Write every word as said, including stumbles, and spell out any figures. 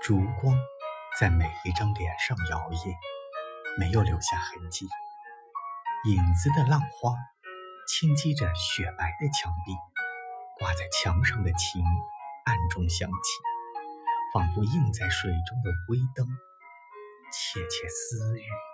烛光在每一张脸上摇曳，没有留下痕迹。影子的浪花轻击着雪白的墙壁，挂在墙上的琴暗中响起，仿佛映在水中的微灯，窃窃私语。